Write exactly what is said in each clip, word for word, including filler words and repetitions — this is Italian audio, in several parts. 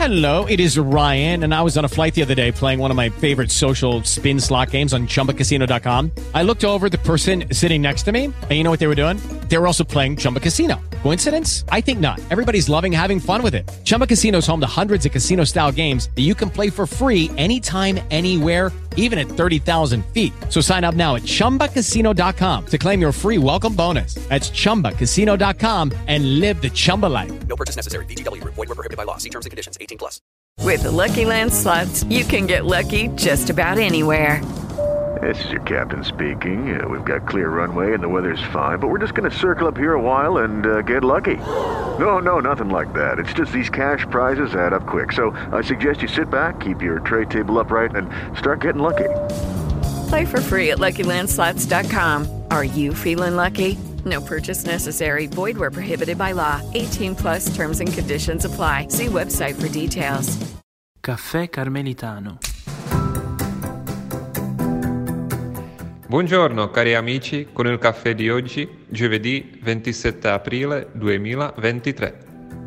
Hello, it is Ryan, and I was on a flight the other day playing one of my favorite social spin slot games on Chumba Casino dot com. I looked over at the person sitting next to me, and you know what they were doing? They were also playing Chumba Casino. Coincidence? I think not. Everybody's loving having fun with it. Chumba Casino is home to hundreds of casino-style games that you can play for free anytime, anywhere, even at thirty thousand feet. So sign up now at Chumba Casino dot com to claim your free welcome bonus. That's Chumba Casino dot com and live the Chumba life. No purchase necessary. V G W. Void where prohibited by law. See terms and conditions. eighteen plus. With the Lucky Land Slots, you can get lucky just about anywhere. This is your captain speaking. Uh, we've got clear runway and the weather's fine, but we're just going to circle up here a while and uh, get lucky. No, no, nothing like that. It's just these cash prizes add up quick. So I suggest you sit back, keep your tray table upright, and start getting lucky. Play for free at Lucky Land Slots dot com. Are you feeling lucky? No purchase necessary. Void where prohibited by law. eighteen plus terms and conditions apply. See website for details. Caffè Carmelitano. Buongiorno cari amici, con il caffè di oggi, giovedì ventisette aprile duemilaventitré.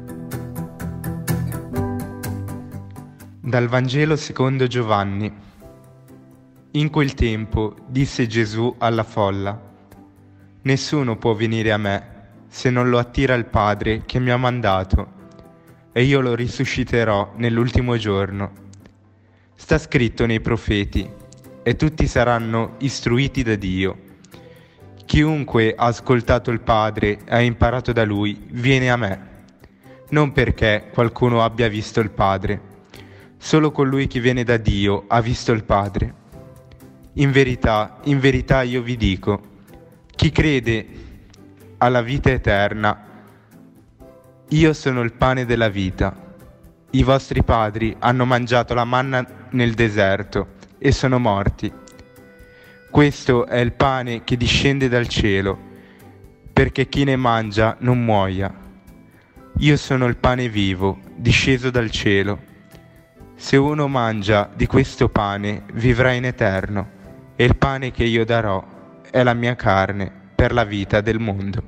Dal Vangelo secondo Giovanni. In quel tempo disse Gesù alla folla: nessuno può venire a me se non lo attira il Padre che mi ha mandato, e io lo risusciterò nell'ultimo giorno. Sta scritto nei profeti, e tutti saranno istruiti da Dio. Chiunque ha ascoltato il Padre e ha imparato da Lui viene a me, non perché qualcuno abbia visto il Padre. Solo colui che viene da Dio ha visto il Padre. In verità, in verità io vi dico, chi crede alla vita eterna, io sono il pane della vita. I vostri padri hanno mangiato la manna nel deserto e sono morti. Questo è il pane che discende dal cielo, perché chi ne mangia non muoia. Io sono il pane vivo, disceso dal cielo. Se uno mangia di questo pane, vivrà in eterno, e il pane che io darò è la mia carne per la vita del mondo.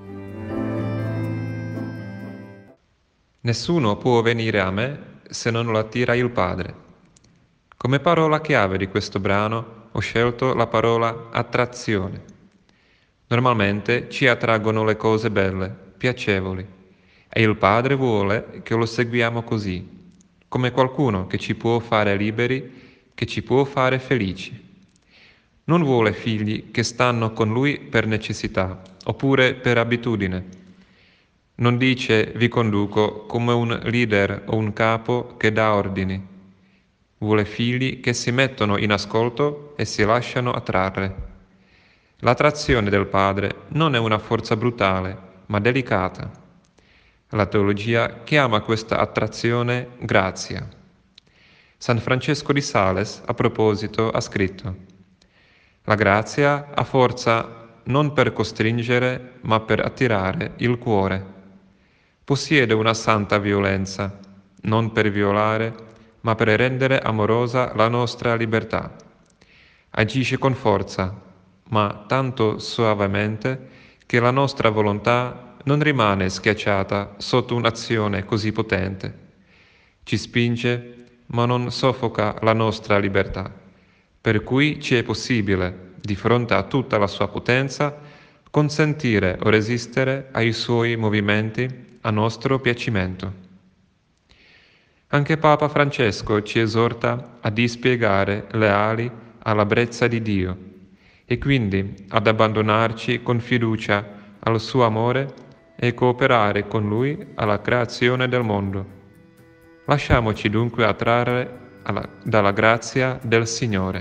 Nessuno può venire a me se non lo attira il Padre. Come parola chiave di questo brano ho scelto la parola attrazione. Normalmente ci attraggono le cose belle, piacevoli, e il Padre vuole che lo seguiamo così, come qualcuno che ci può fare liberi, che ci può fare felici. Non vuole figli che stanno con Lui per necessità, oppure per abitudine. Non dice vi conduco come un leader o un capo che dà ordini. Vuole figli che si mettono in ascolto e si lasciano attrarre. L'attrazione del Padre non è una forza brutale, ma delicata. La teologia chiama questa attrazione grazia. San Francesco di Sales, a proposito, ha scritto: la grazia ha forza non per costringere, ma per attirare il cuore. Possiede una santa violenza, non per violare, ma per rendere amorosa la nostra libertà. Agisce con forza, ma tanto soavemente che la nostra volontà non rimane schiacciata sotto un'azione così potente. Ci spinge, ma non soffoca la nostra libertà, per cui ci è possibile, di fronte a tutta la sua potenza, consentire o resistere ai suoi movimenti a nostro piacimento. Anche Papa Francesco ci esorta a dispiegare le ali alla brezza di Dio e quindi ad abbandonarci con fiducia al suo amore e cooperare con Lui alla creazione del mondo. Lasciamoci dunque attrarre alla, dalla grazia del Signore.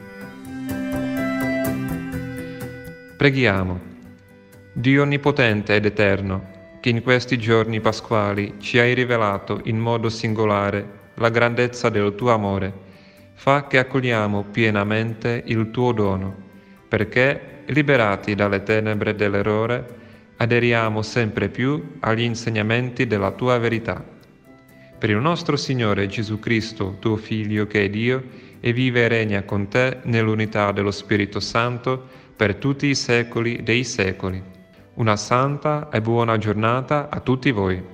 Preghiamo. Dio onnipotente ed eterno, che in questi giorni pasquali ci hai rivelato in modo singolare la grandezza del tuo amore, fa che accogliamo pienamente il tuo dono, perché, liberati dalle tenebre dell'errore, aderiamo sempre più agli insegnamenti della tua verità. Per il nostro Signore Gesù Cristo, tuo Figlio che è Dio, e vive e regna con te nell'unità dello Spirito Santo per tutti i secoli dei secoli. Una santa e buona giornata a tutti voi.